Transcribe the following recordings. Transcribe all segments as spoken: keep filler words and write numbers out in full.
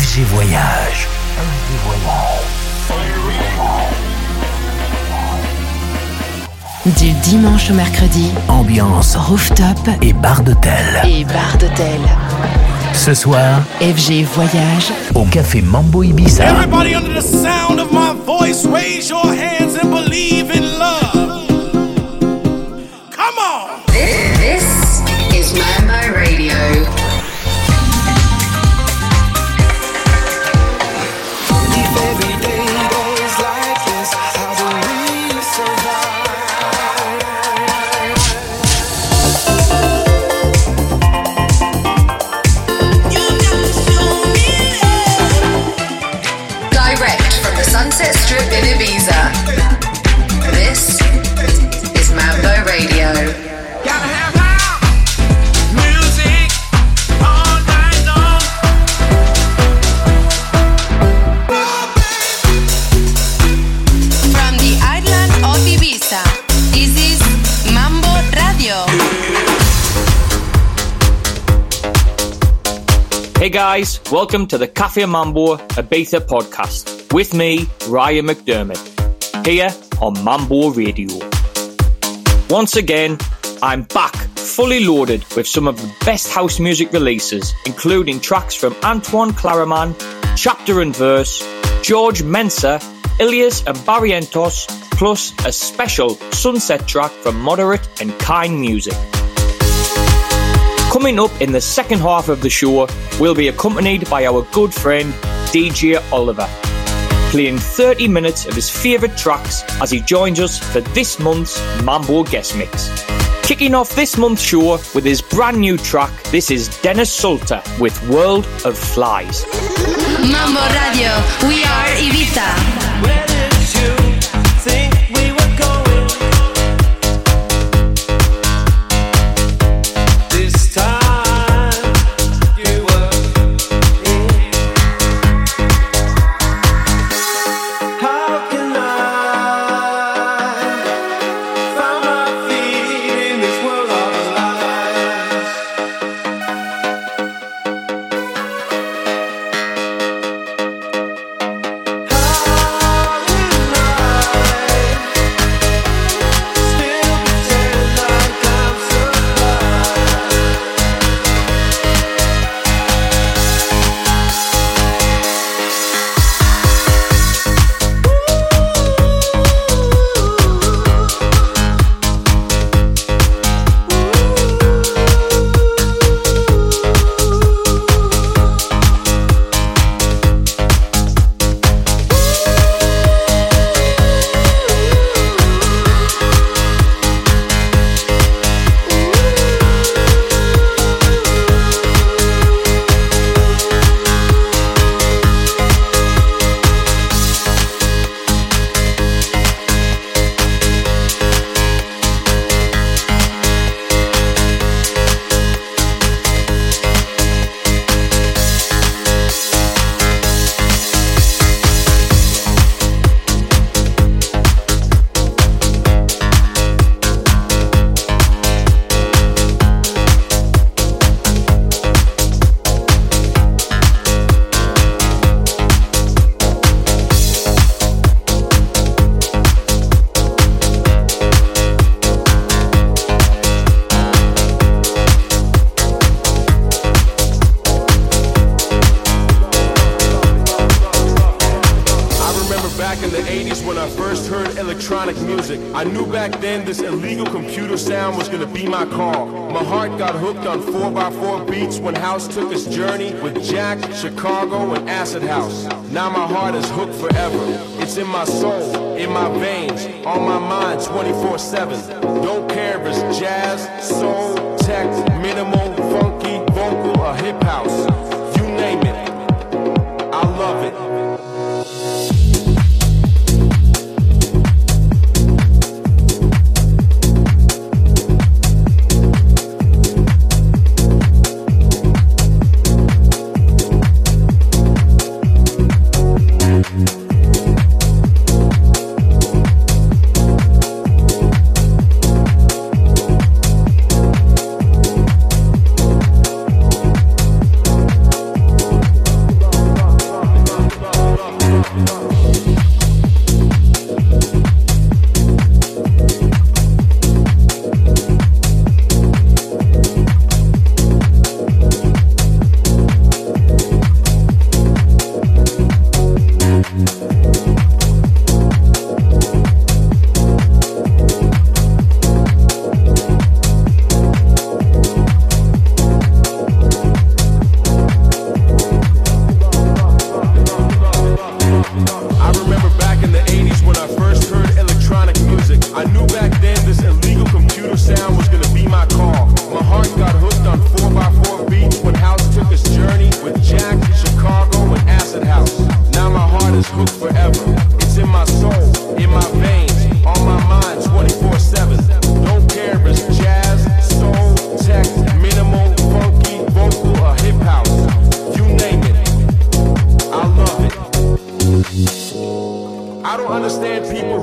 F G Voyage. F G Voyage. Du dimanche au mercredi, ambiance rooftop et bar d'hôtel. Et bar d'hôtel. Ce soir, F G Voyage au café Mambo Ibiza. Everybody under the sound of my voice, raise your hands and believe in love. Come on. This, this is Mambo Radio. Sunset Strip in Ibiza. This is Mambo Radio. Gotta have loud music all night long. From the island of Ibiza, this is Mambo Radio. Hey guys, welcome to the Cafe Mambo Ibiza podcast. With me, Ryan McDermott, here on Mambo Radio. Once again, I'm back fully loaded with some of the best house music releases, including tracks from Antoine Claraman, Chapter and Verse, George Mensa, Ilias and Barrientos, plus a special sunset track from Moderate and Kind Music. Coming up in the second half of the show, we'll be accompanied by our good friend D J Oliver, playing thirty minutes of his favourite tracks as he joins us for this month's Mambo Guest Mix. Kicking off this month's show with his brand new track, this is Dennis Sulta with World of Flies. Mambo Radio, we are Ibiza. Where did you think we were going? This time you were in. How can I find my feet in this world of lies? How can I knew back then this illegal computer sound was gonna be my call. My heart got hooked on four by four beats when House took its journey with Jack, Chicago, and Acid House. Now my heart is hooked forever. It's in my soul, in my veins, on my mind twenty-four seven. Don't care if it's jazz, soul, tech, minimal, funky, vocal, or hip house. You name it. I love it.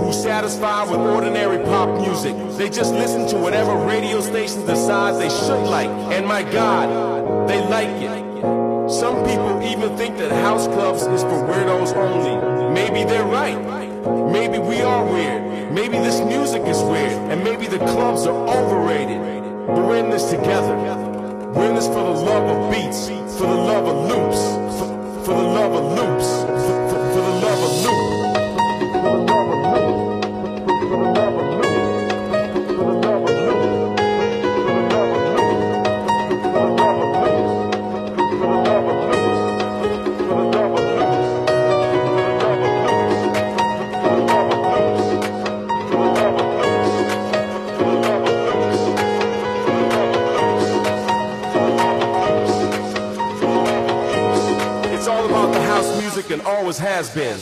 who satisfied with ordinary pop music. They just listen to whatever radio stations decide they should like. And my God, they like it. Some people even think that house clubs is for weirdos only. Maybe they're right. Maybe we are weird. Maybe this music is weird. And maybe the clubs are overrated. But we're in this together. We're in this for the love of beats, for the love of loops, for, for the love of loops, for, for, for the love of loops. And always has been.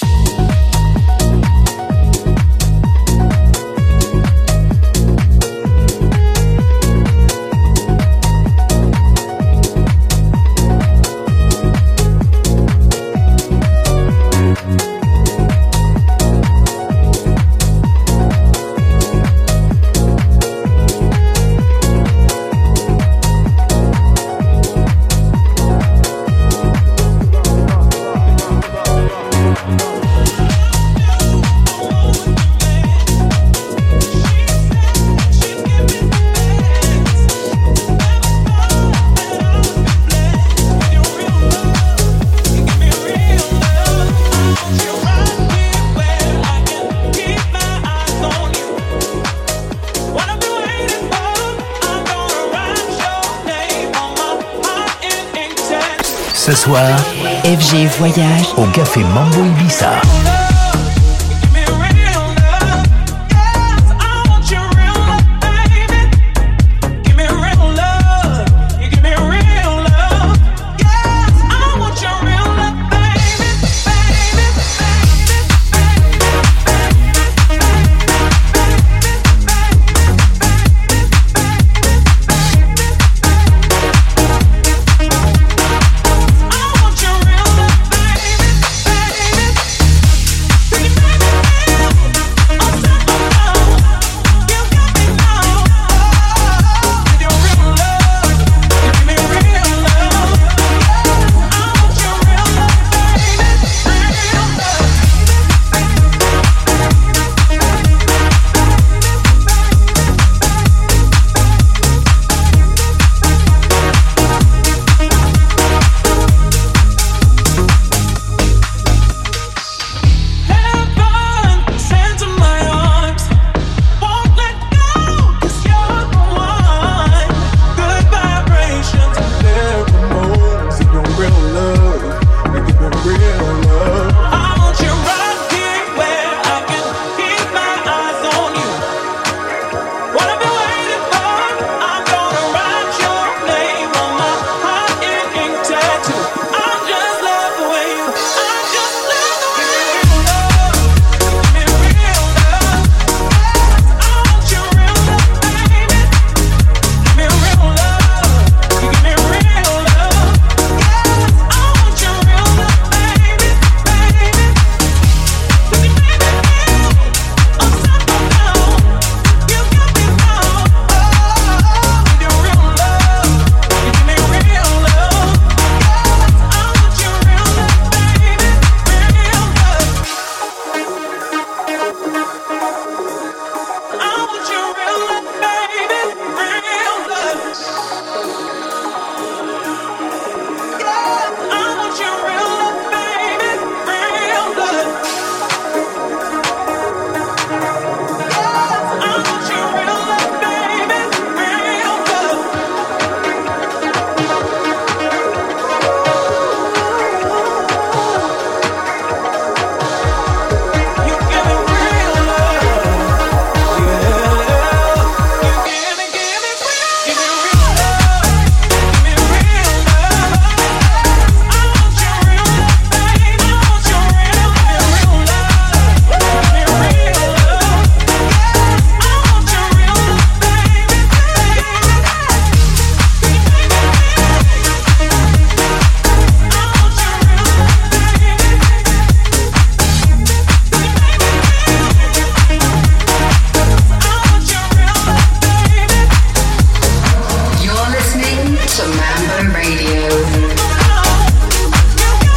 Ce soir, F G Voyage au Café Mambo Ibiza.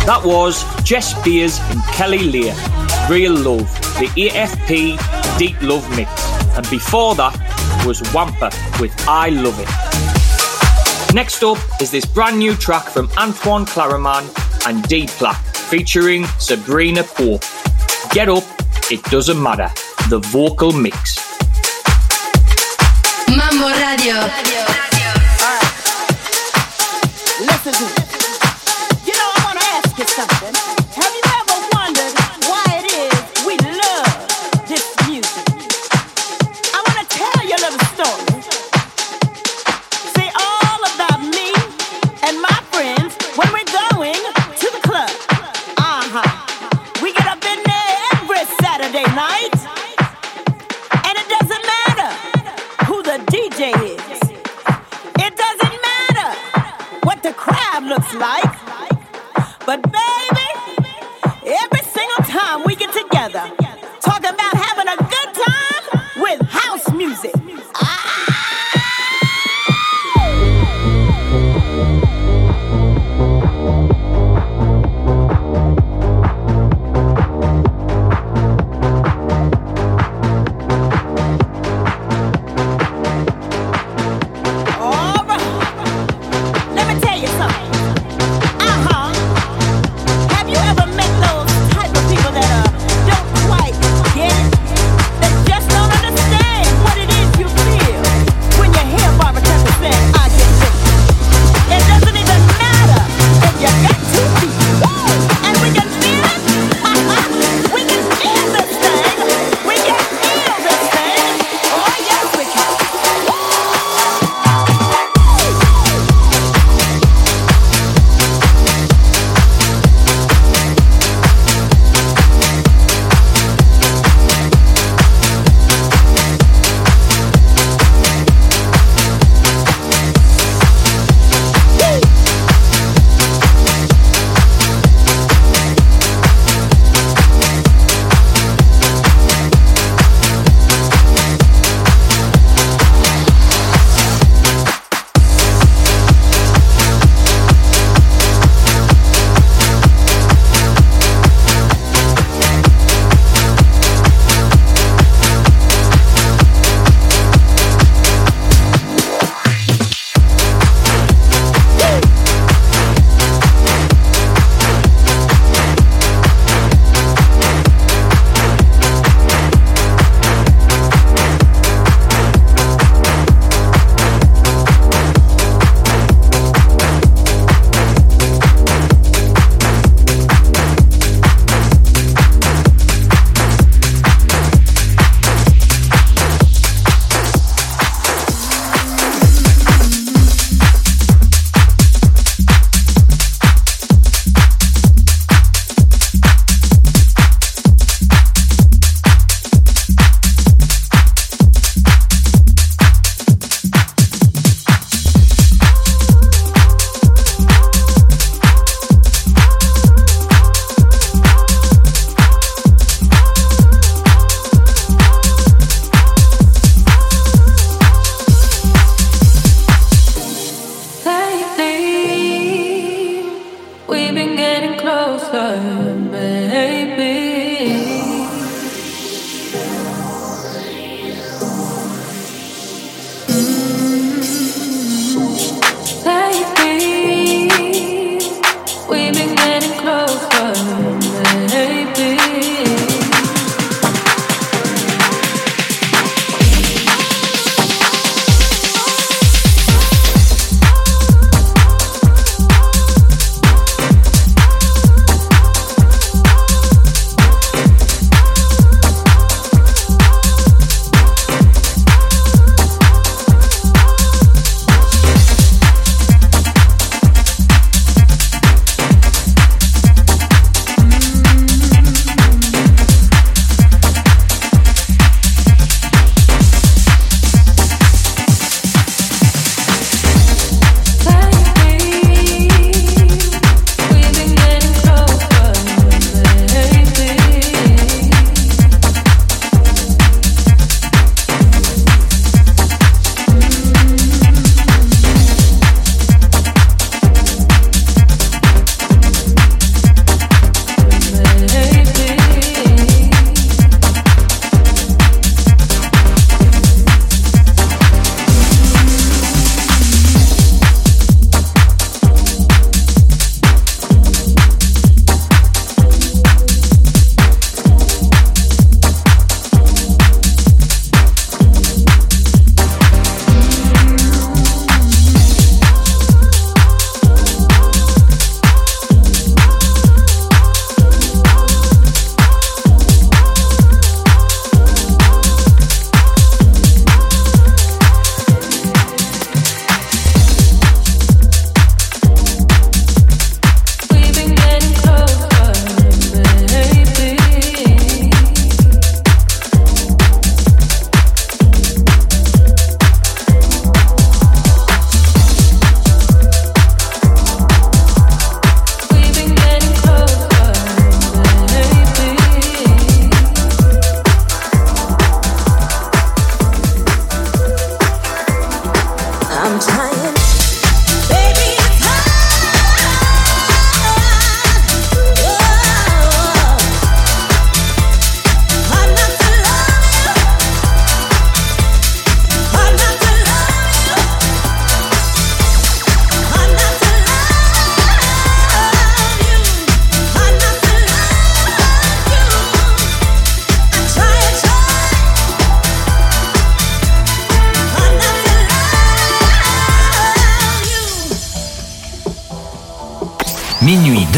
That was Jess Beers and Kelly Lear, Real Love, the A F P Deep Love Mix. And before that was Wampa with I Love It. Next up is this brand new track from Antoine Claraman and D-Plaque featuring Sabrina Pope. Get Up, It Doesn't Matter, the vocal mix. Mambo Radio. Alright. Listen to me. You know, I want to ask you something. Have you ever wondered why it is we love this music? I want to tell you a little story. See, all about me and my friends when we're going to the club. Uh-huh. We get up in there every Saturday night. And it doesn't matter who the D J is. It doesn't matter what the crowd looks like. But baby, every single time we get together, talking about having a good time with house music. All right, let me tell you something. Uh-huh. Have you ever met those type of people that uh, don't quite get it? That just don't understand what it is you feel when you hear Barbara Tucker saying, I can live. It doesn't even matter if you got two feet. And we can feel it. We can feel this thing. We can feel this thing. Oh, yes, we can.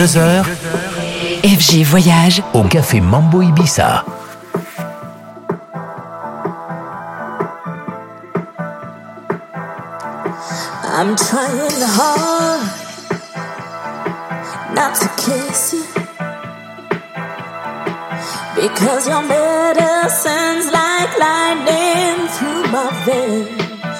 deux heures, F G Voyage au Café Mambo Ibiza. I'm trying hard not to kiss you, because your medicine's like lightning through my veins.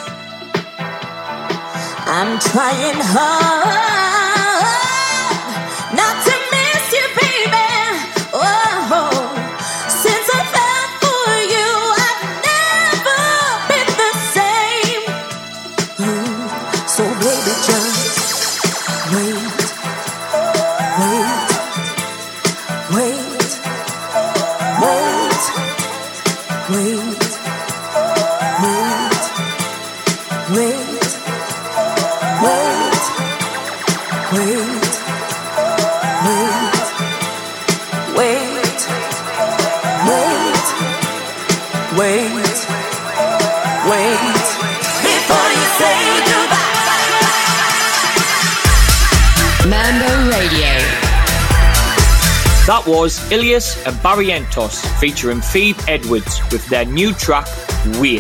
I'm trying hard not to miss you, baby. Oh, since I fell for you, I've never been the same. Mm, so baby, just wait, wait, wait, wait, wait, wait, wait. That was Ilias and Barrientos featuring Phoebe Edwards with their new track, Wait.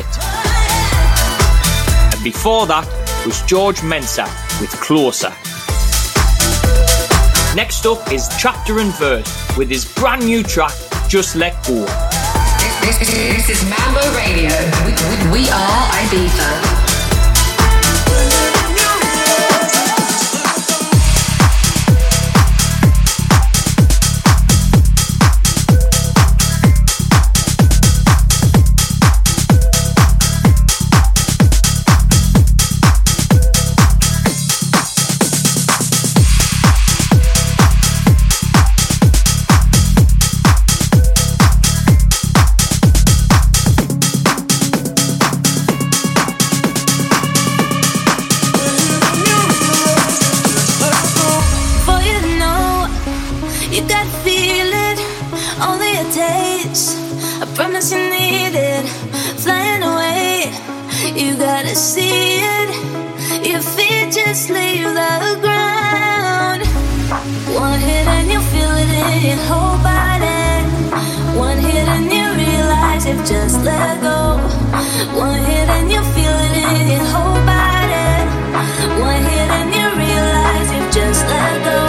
And before that was George Mensah with Closer. Next up is Chapter and Verse with his brand new track, Just Let Go. This, this, this is Mambo Radio. We, we are Ibiza. Just let go. One hit and you feel it in your whole body. One hit and you realize you've just let go.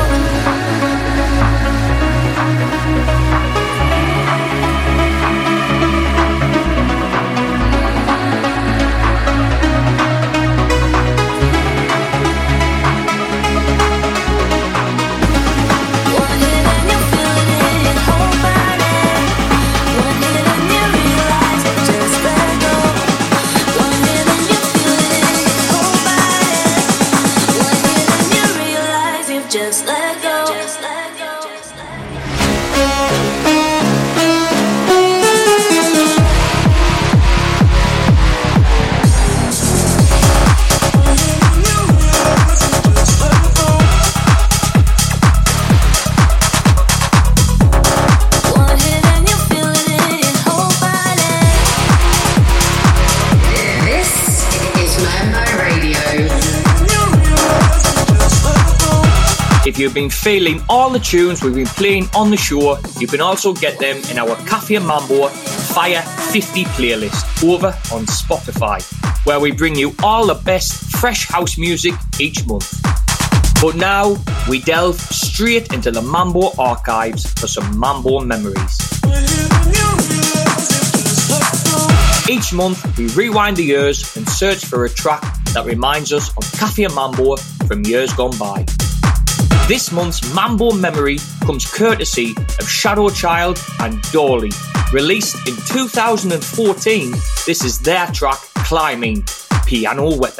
If you've been feeling all the tunes we've been playing on the show, you can also get them in our Cafe Mambo Fire fifty playlist over on Spotify, where we bring you all the best fresh house music each month. But now, we delve straight into the Mambo archives for some Mambo memories. Each month, we rewind the years and search for a track that reminds us of Cafe Mambo from years gone by. This month's Mambo memory comes courtesy of Shadow Child and Dolly. Released in two thousand fourteen, this is their track Climbing, Piano Weapon.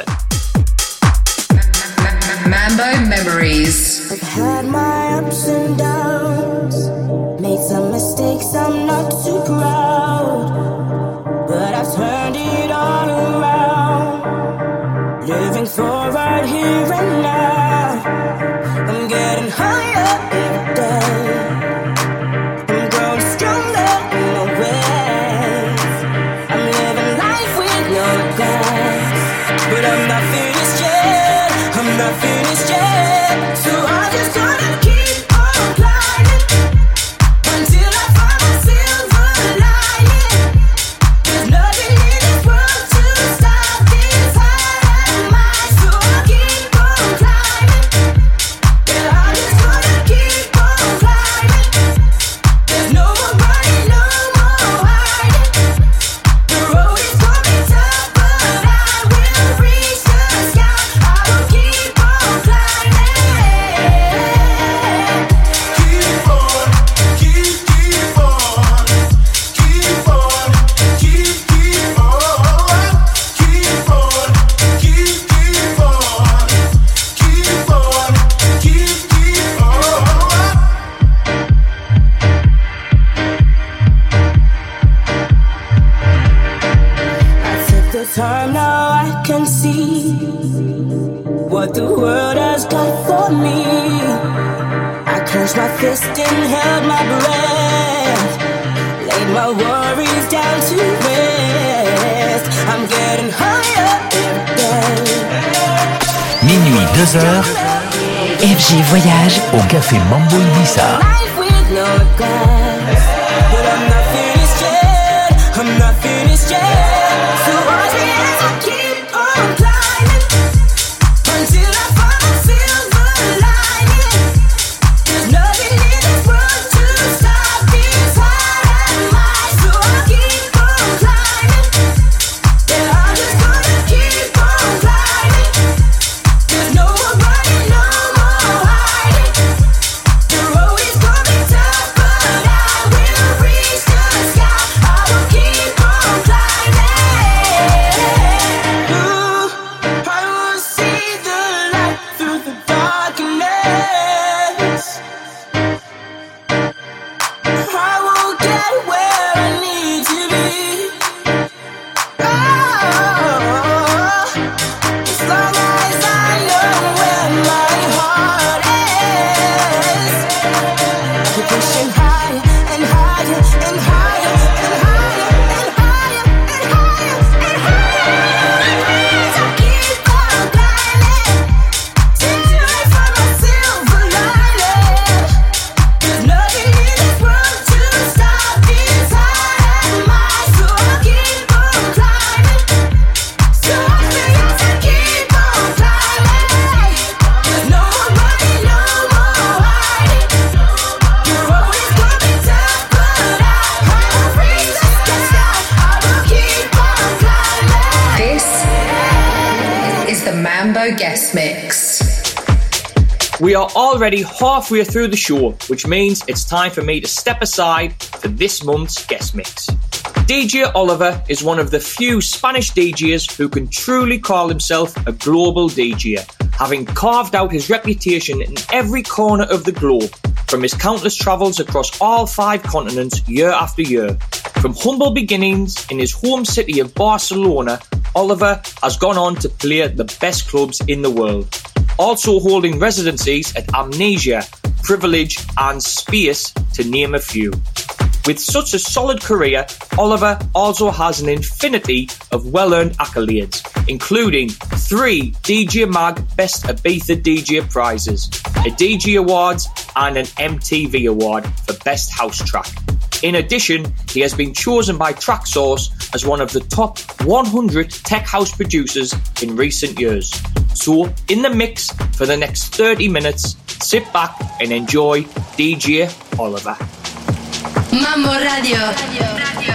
Mambo Memories. I've had my ups and downs, made some mistakes, I'm not too proud, but I've turned it all around, living for right here and now. I'm getting higher every day, I'm growing stronger in my ways, I'm living life with no regrets, but I'm not finished yet, I'm not finished yet, so I just gotta keep on fist and held my breath. Laid my worries down to rest. I'm getting higher every day. Minuit, deux heures. F G Voyage au Café Mambo Ibiza. Life with no regrets. But I'm not finished yet. I'm not finished yet. So watch me as I keep on climbing until I find my silver lining. There's nothing in this world to stop this high and high. So I keep on climbing. Yeah, I'm just gonna keep on climbing. There's no more running, no more hiding. The road is coming tough, but I will reach the sky. I will keep on climbing. Ooh, I will see the light through the darkness. I will get where I need to be. Oh, as long as I know where my heart is. I keep pushing higher and higher and higher and higher and higher and higher and higher. So keep on climbing till I find my silver lining. There's nothing in this world to stop this high and high. So I keep on climbing. So I say yes, I keep on climbing. There's no more running, no more hiding. The road is coming tough, but I will reach the sky. I will keep on climbing. This is the Mambo Guest Mix. We are already halfway through the show, which means it's time for me to step aside for this month's guest mix. D J Oliver is one of the few Spanish D Js who can truly call himself a global D J, having carved out his reputation in every corner of the globe, from his countless travels across all five continents year after year. From humble beginnings in his home city of Barcelona, Oliver has gone on to play at the best clubs in the world, also holding residencies at Amnesia, Privilege and Space, to name a few. With such a solid career, Oliver also has an infinity of well-earned accolades, including three D J Mag Best Ibiza D J prizes, a D J Awards and an M T V Award for Best House Track. In addition, he has been chosen by Traxsource as one of the top one hundred tech house producers in recent years. So, in the mix for the next thirty minutes, sit back and enjoy D J Oliver. Mambo Radio. Radio.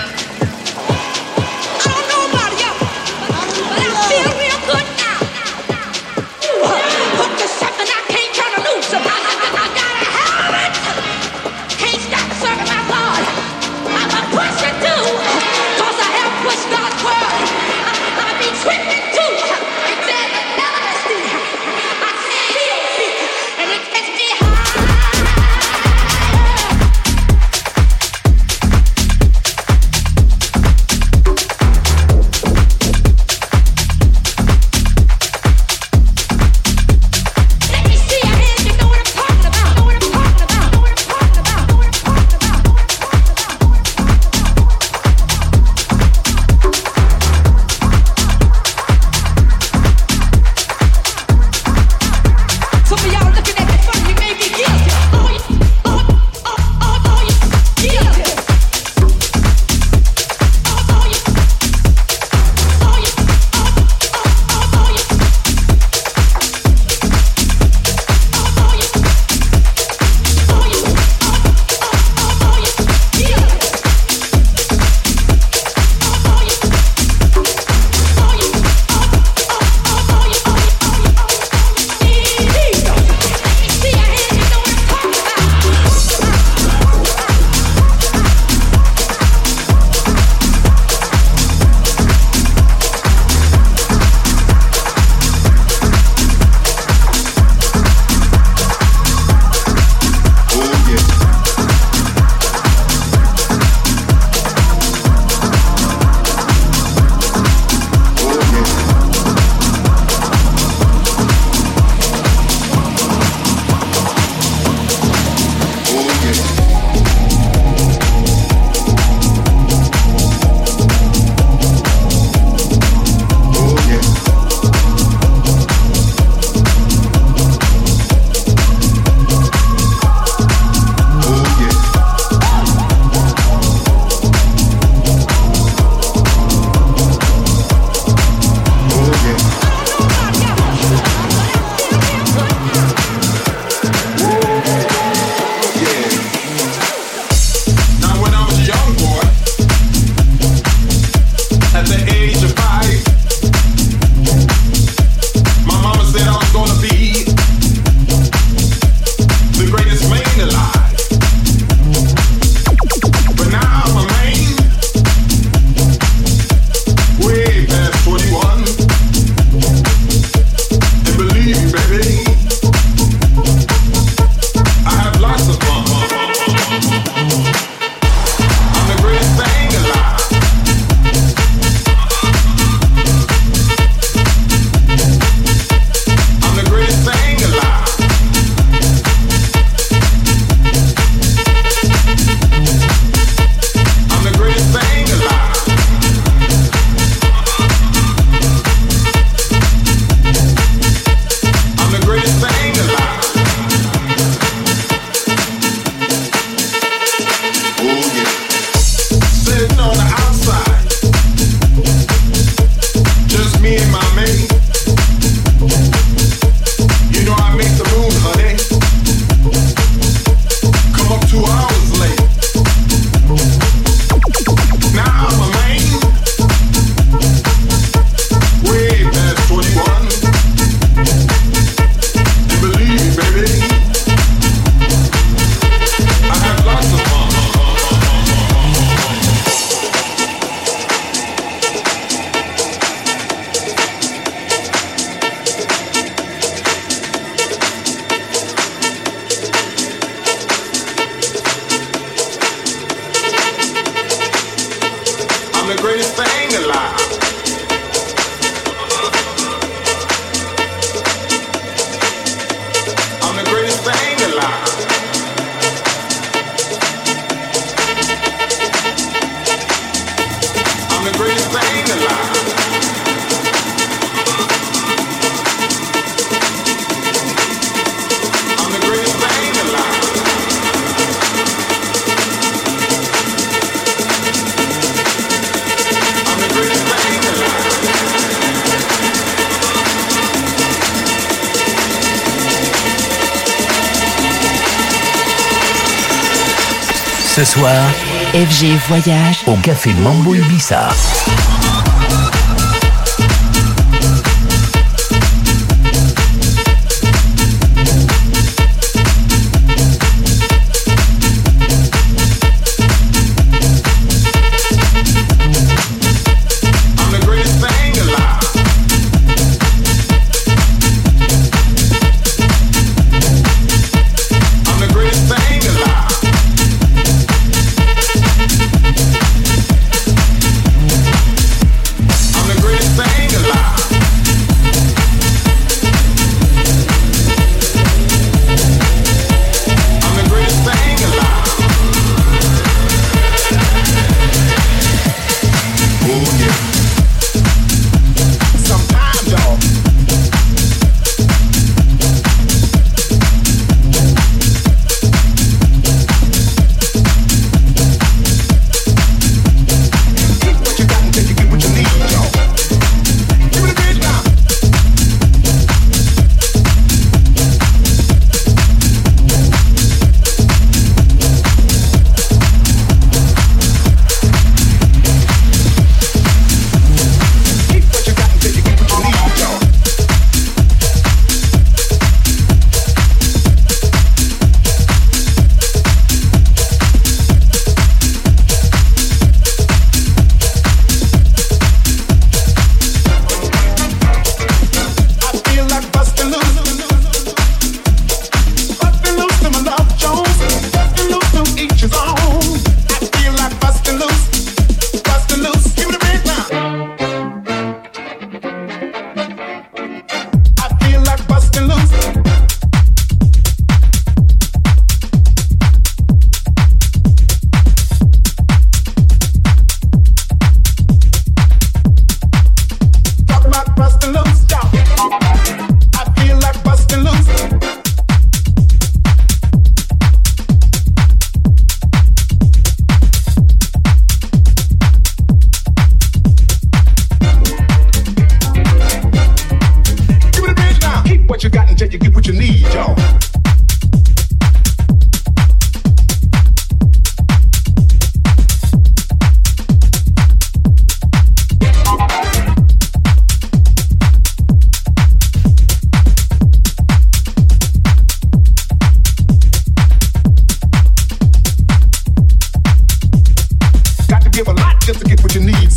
Ce soir, F G Voyage au Café Mambo Ibiza.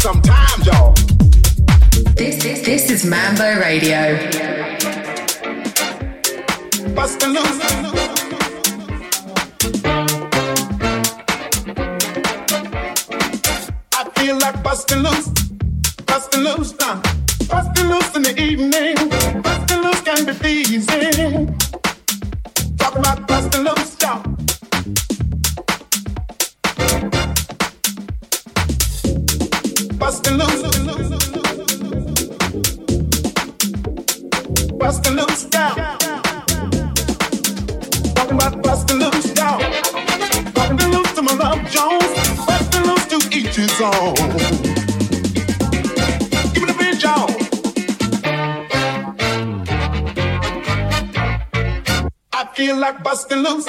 sometimes, y'all. This, this, this is Mambo Radio. Bustin' loose. I feel like bustin' loose, bustin' loose now. Bustin' loose in the evening, bustin' loose can be pleasing. Talk about bustin' loose, y'all. Bustin' loose, bustin' loose down. Talking about bustin' loose down. Talking loose to my love Jones. Bustin' loose to each his own. Give me the beat, y'all. I feel like bustin' loose.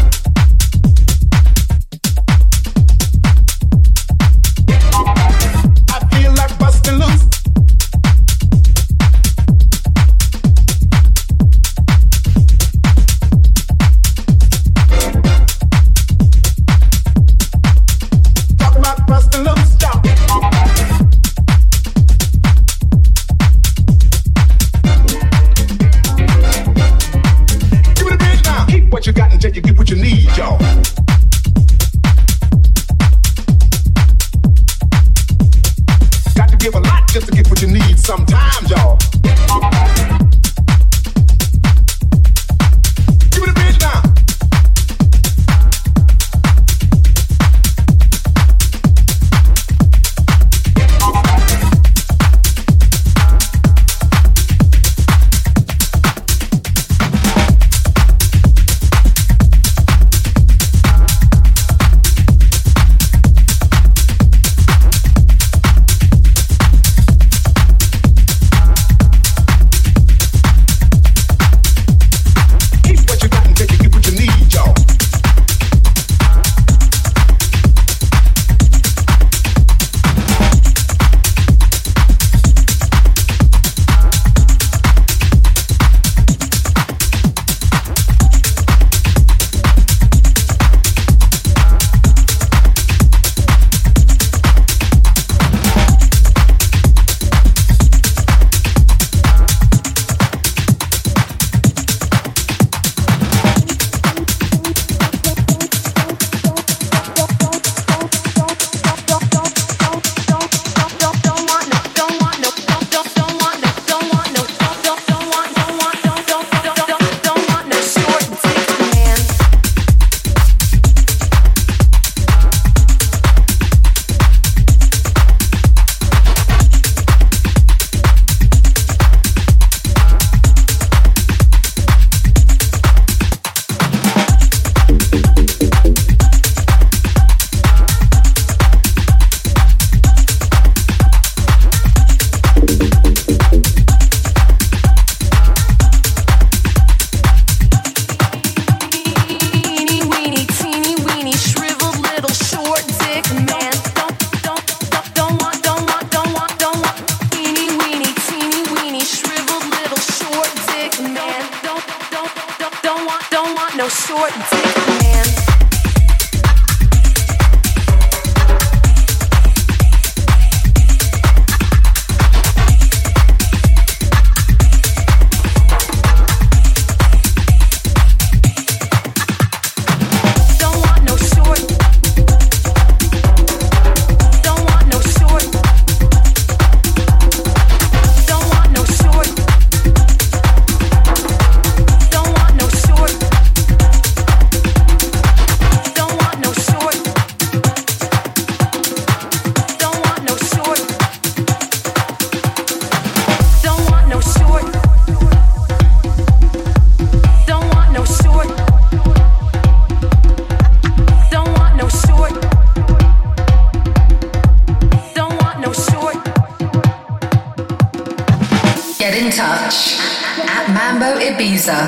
Ibiza.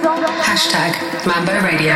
Hashtag Mambo Radio.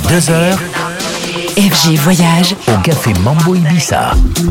deux heures. F G Voyage au Café Mambo Ibiza.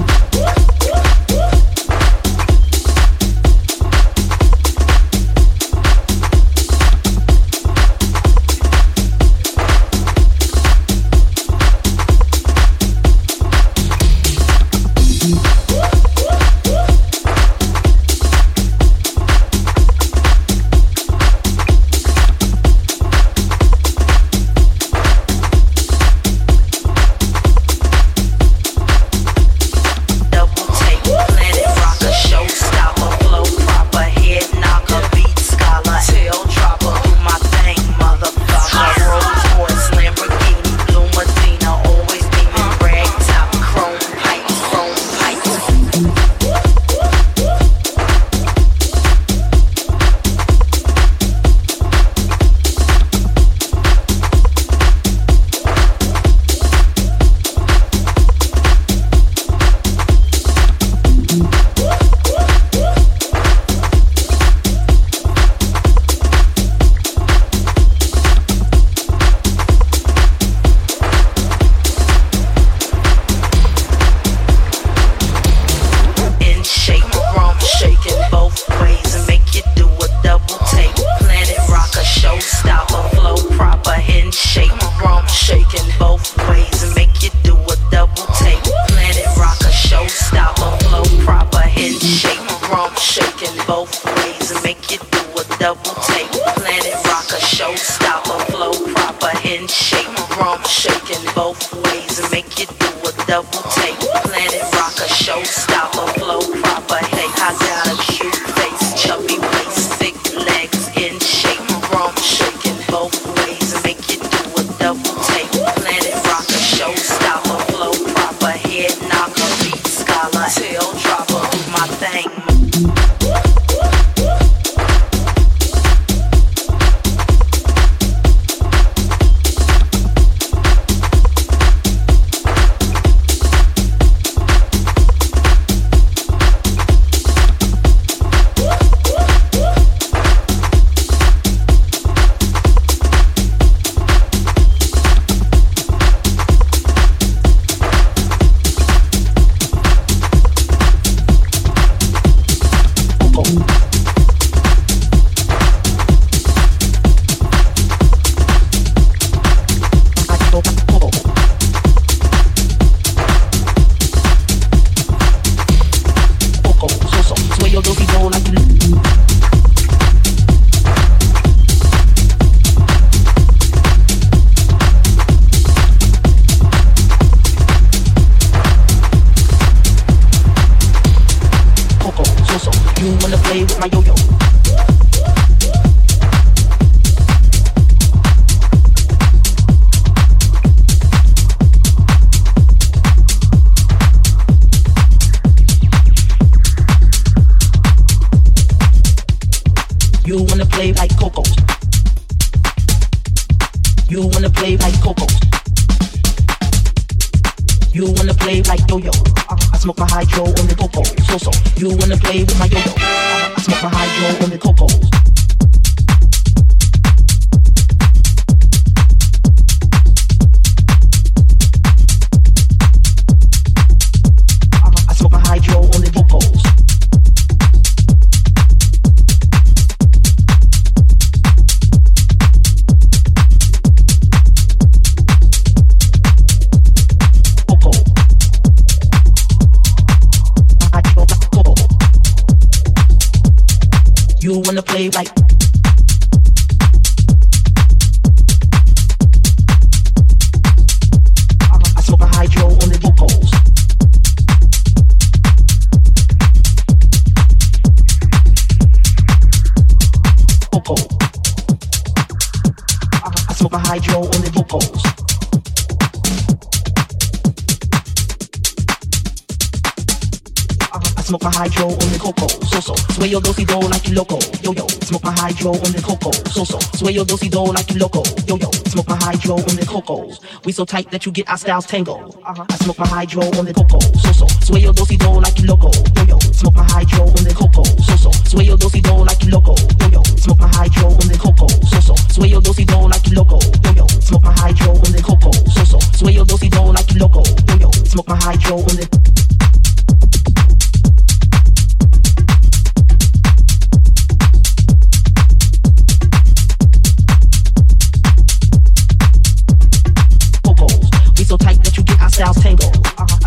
Sway your do-si-do like you loco, yo-yo. Smoke my hydro on the cocoa, so-so. Sway your do-si-do like you loco, yo-yo. Smoke my hydro on the cocos. We so tight that you get our styles tangled. Uh-huh. I smoke my hydro on the cocoa, so-so. Sway your do-si-do like you loco, yo-yo. Smoke my hydro on the cocoa, so-so. Sway your do-si-do like you loco, yo-yo. Smoke my hydro on the cocoa, so-so. Sway your do-si-do like you loco, yo-yo. Smoke my hydro on the cocoa,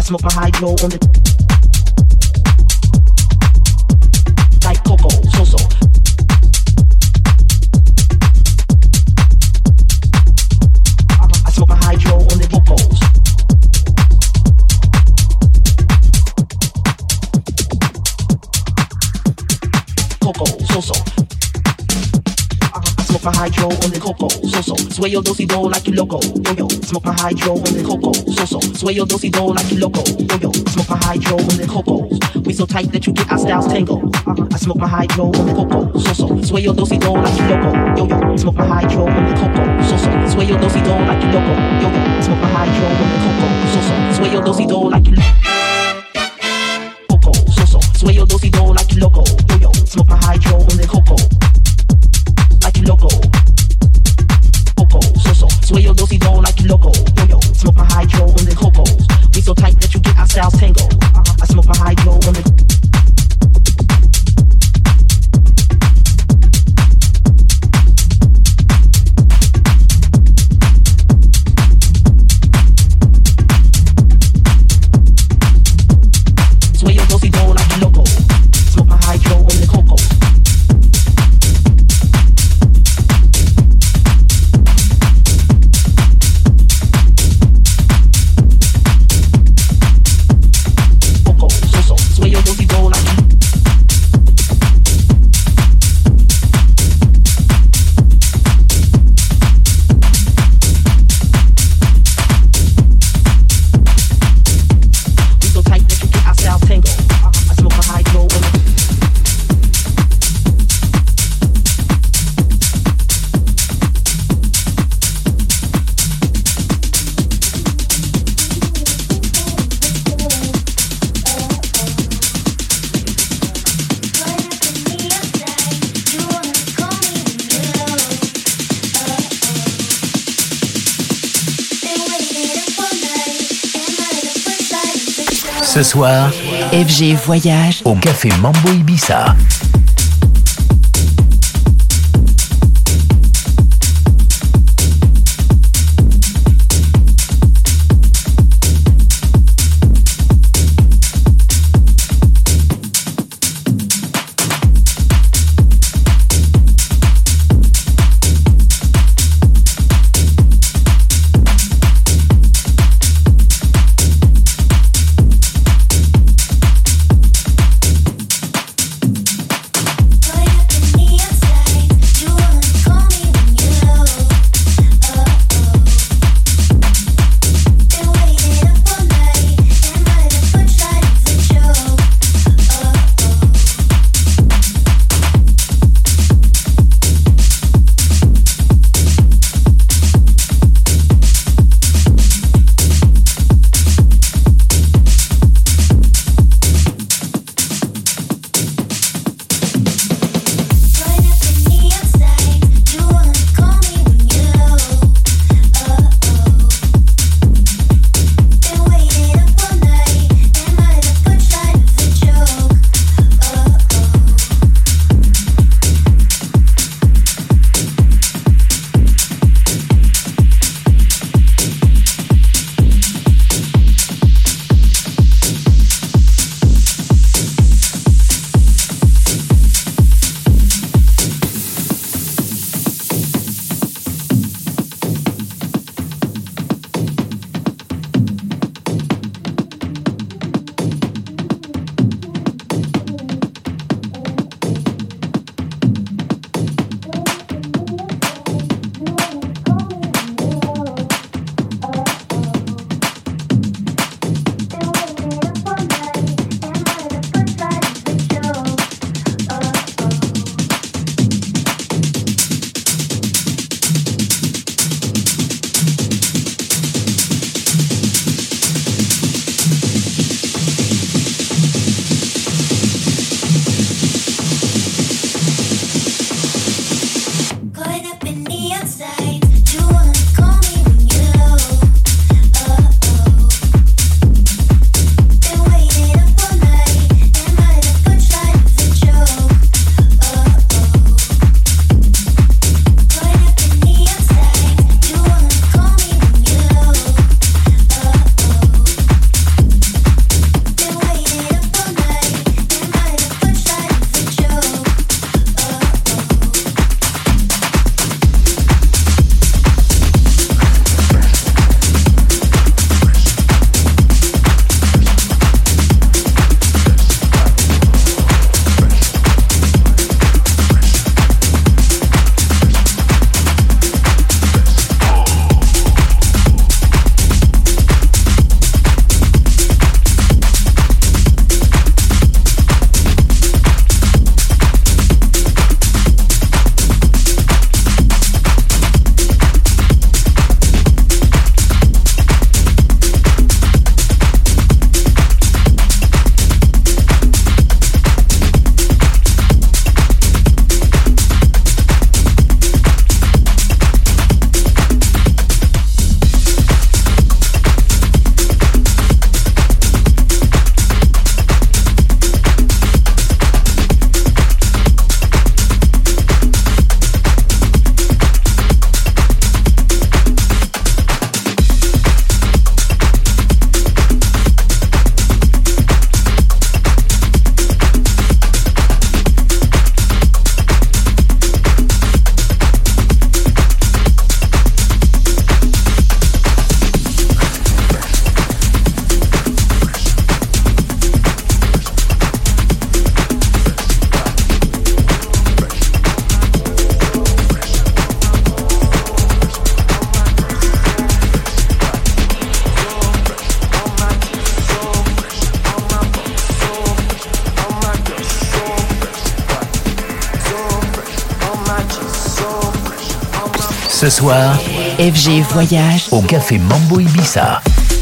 smoke my hydro on the like cocoa, so so. I smoke my hydro on the vocals. Cocoa, so so. Smoke my hydro on the cocoa, so so. Sway your dosey do like you loco, yo yo. Smoke my hydro on the cocoa, so so. Sway your dosey do like you loco, yo yo. Smoke my hydro on the cocoa. We so tight that you get our styles tangled. I smoke my hydro on the cocoa, so so. Sway your dosey do like you loco, yo yo. Smoke my hydro on the cocoa, so so. Sway your dosey do like you loco, yo yo. Smoke my hydro on the cocoa, so so. Sway your dosey do like you cocoa, so so. Sway your dosey do like you loco, yo yo. Smoke my hydro on the cocoa. Loco, coco, so so. Sway your dosey do like you loco, yo yo. Smoke my hydro on the cocos. We so tight that you get our styles tangled. I smoke my hydro on the. Sway your dosey do like you loco. Smoke my hydro on the coco. Ce soir, F G Voyage au Café Mambo Ibiza. Ce soir, F G Voyage au Café Mambo Ibiza.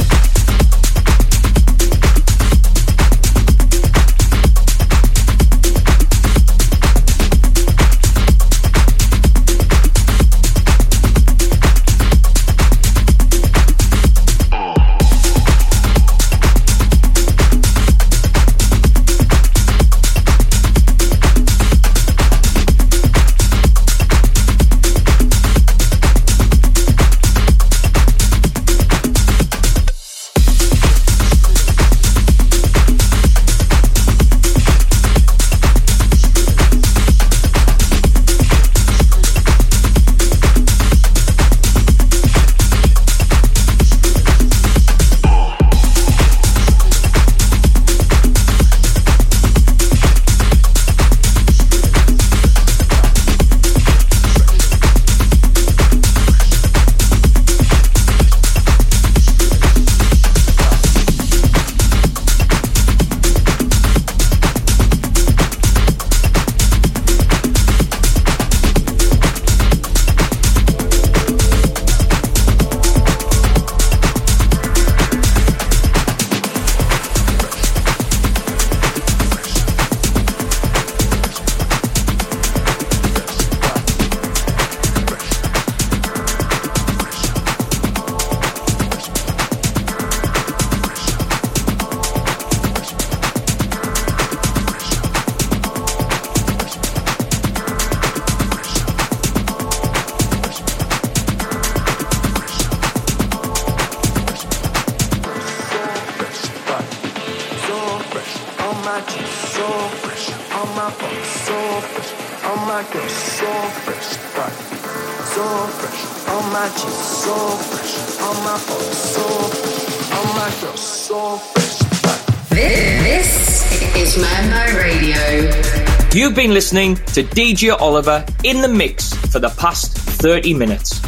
You've been listening to D J Oliver in the mix for the past thirty minutes.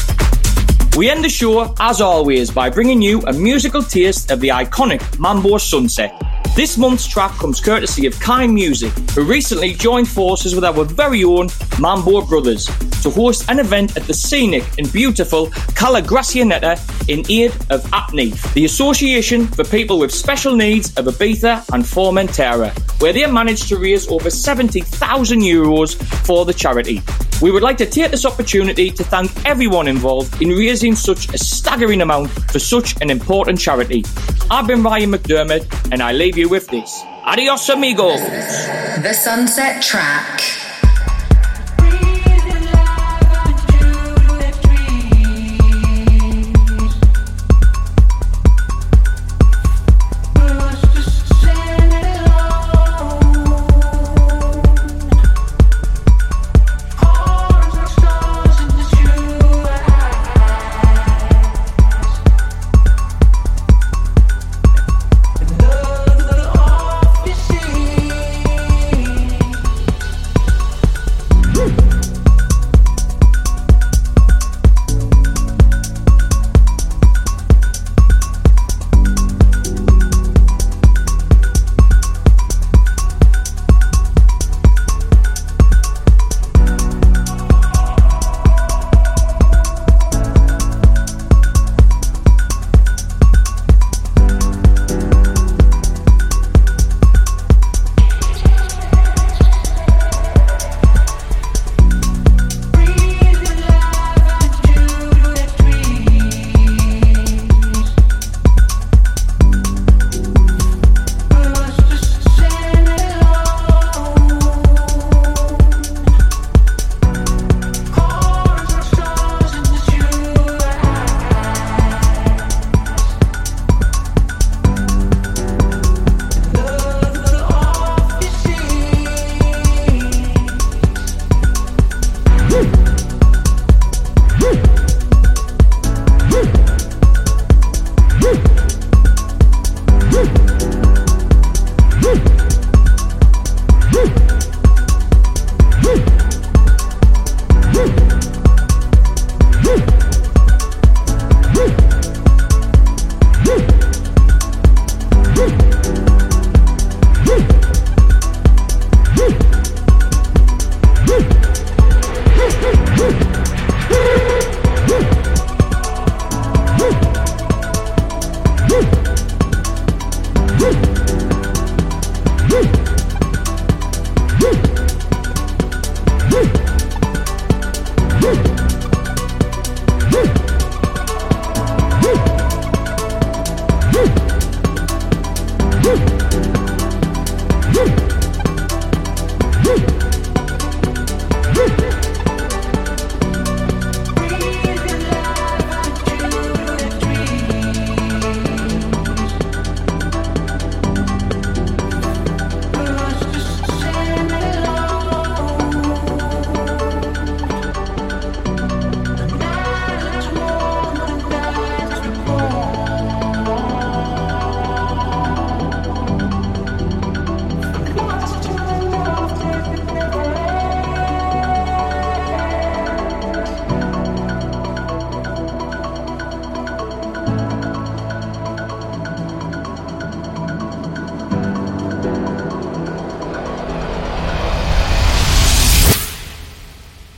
We end the show, as always, by bringing you a musical taste of the iconic Mambo Sunset. This month's track comes courtesy of Kind Music, who recently joined forces with our very own Mambo Brothers to host an event at the scenic and beautiful Cala Gracianeta in aid of APNIF, the Association for People with Special Needs of Ibiza and Formentera, where they managed to raise over seventy thousand euros for the charity. We would like to take this opportunity to thank everyone involved in raising such a staggering amount for such an important charity. I've been Ryan McDermott, and I leave you with this. Adios, amigos. The Sunset Track.